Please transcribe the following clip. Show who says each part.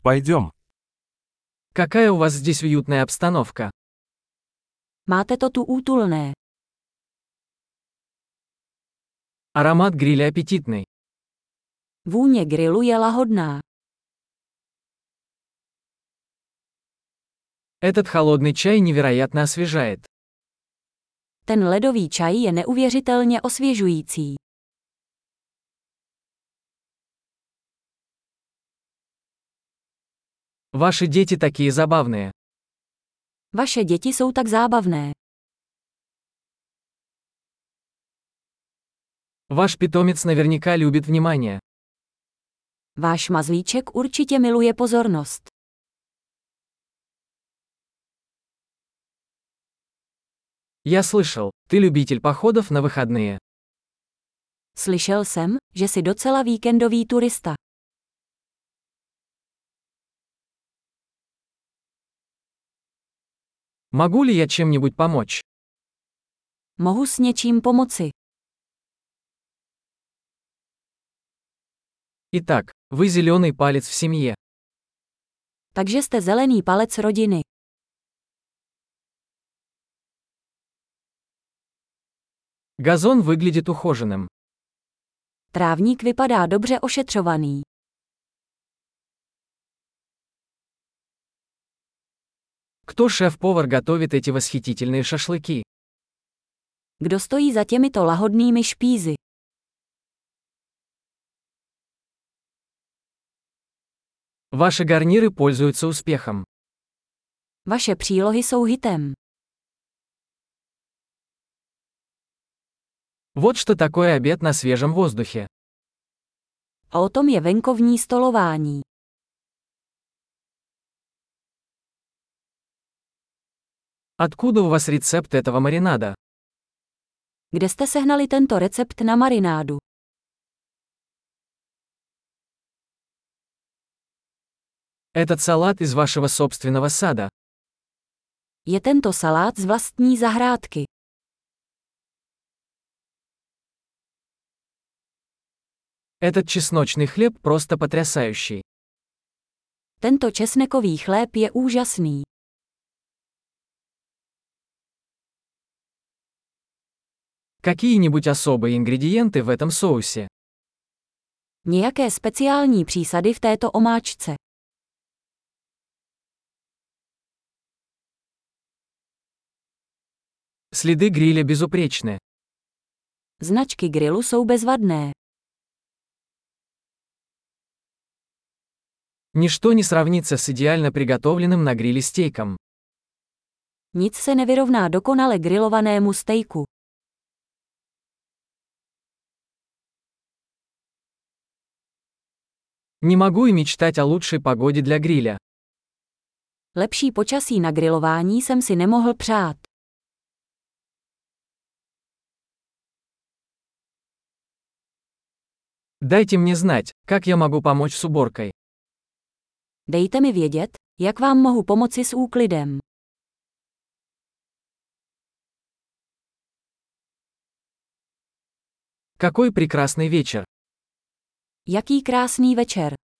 Speaker 1: Пойдем.
Speaker 2: Какая у вас здесь уютная обстановка.
Speaker 3: Máte to tu útulné.
Speaker 2: Аромат гриля аппетитный.
Speaker 3: Vůně grilu je lahodná.
Speaker 2: Этот холодный чай невероятно освежает.
Speaker 3: Ten ledový čaj je neuvěřitelně osvěžující.
Speaker 2: Ваши дети такие забавные.
Speaker 3: Vaše děti jsou tak zábavné.
Speaker 2: Ваш питомец наверняка любит внимание.
Speaker 3: Váš mazlíček určitě miluje pozornost.
Speaker 2: Я слышал, ты любитель походов на выходные.
Speaker 3: Slyšel jsem, že jsi docela víkendový turista.
Speaker 2: Могу ли я чем-нибудь помочь?
Speaker 3: Mohu s něčím pomoci.
Speaker 2: Итак, вы зеленый палец в семье.
Speaker 3: Takže jste zelený palec rodiny.
Speaker 2: Газон выглядит ухоженным.
Speaker 3: Trávník vypadá dobře ošetřovaný.
Speaker 2: Кто шеф-повар готовит эти восхитительные шашлыки?
Speaker 3: Kdo stojí za těmito lahodnými špízy?
Speaker 2: Ваши гарниры пользуются успехом.
Speaker 3: Vaše přílohy jsou hitem.
Speaker 2: Вот что такое обед на свежем воздухе.
Speaker 3: A o tom je venkovní stolování.
Speaker 2: Откуда у вас рецепт этого маринада?
Speaker 3: Kde jste sehnali tento recept na marinádu?
Speaker 2: Этот салат из вашего собственного сада.
Speaker 3: Je tento salát z vlastní zahrádky.
Speaker 2: Этот чесночный хлеб просто потрясающий.
Speaker 3: Tento česnekový chléb je úžasný.
Speaker 2: Какие-нибудь особые ингредиенты в этом соусе?
Speaker 3: Nějaké speciální přísady v této omáčce.
Speaker 2: Следы гриля безупречны.
Speaker 3: Značky grilu jsou bezvadné.
Speaker 2: Ничто не сравнится с идеально приготовленным на гриле стейком.
Speaker 3: Nic se nevyrovná dokonale grilovanému stejku.
Speaker 2: Не могу и мечтать о лучшей погоде для гриля.
Speaker 3: Lepší počasí na grilování jsem si nemohl přát.
Speaker 2: Дайте мне знать, как я могу помочь с уборкой.
Speaker 3: Dejte mi vědět, jak vám mohu pomoci s úklidem.
Speaker 2: Какой прекрасный вечер.
Speaker 3: Jaký krásný večer.